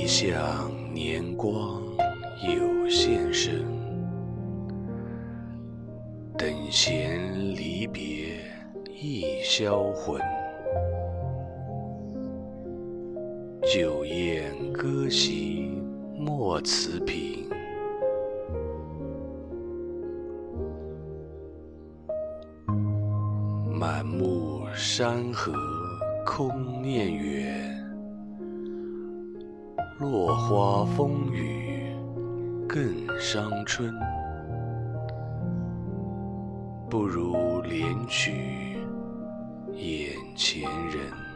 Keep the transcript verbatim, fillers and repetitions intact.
想年光有限身，等闲离别易销魂。酒宴歌席莫辞频，满目山河空念远。落花风雨更伤春，不如怜取眼前人。